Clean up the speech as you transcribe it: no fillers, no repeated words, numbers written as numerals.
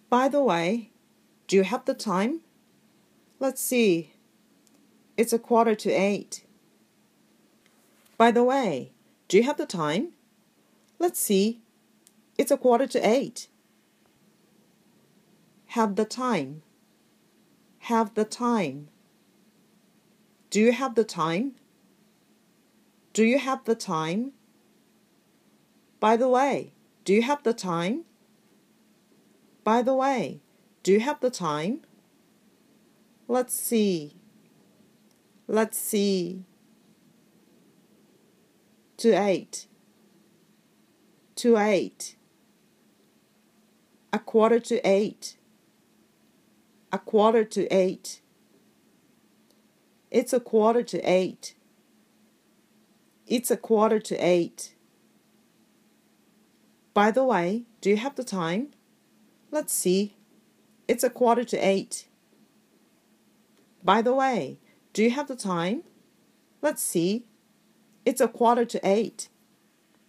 By the way, do you have the time? Let's see. It's 7:45. By the way, do you have the time? Let's see. It's 7:45. Have the time. Have the time. Do you have the time? Do you have the time? By the way, do you have the time? By the way, do you have the time? Let's see. Let's see. To 8. To 8. 7:45. 7:45. It's 7:45. It's 7:45. By the way, do you have the time? Let's see. It's 7:45. By the way, do you have the time? Let's see. It's 7:45.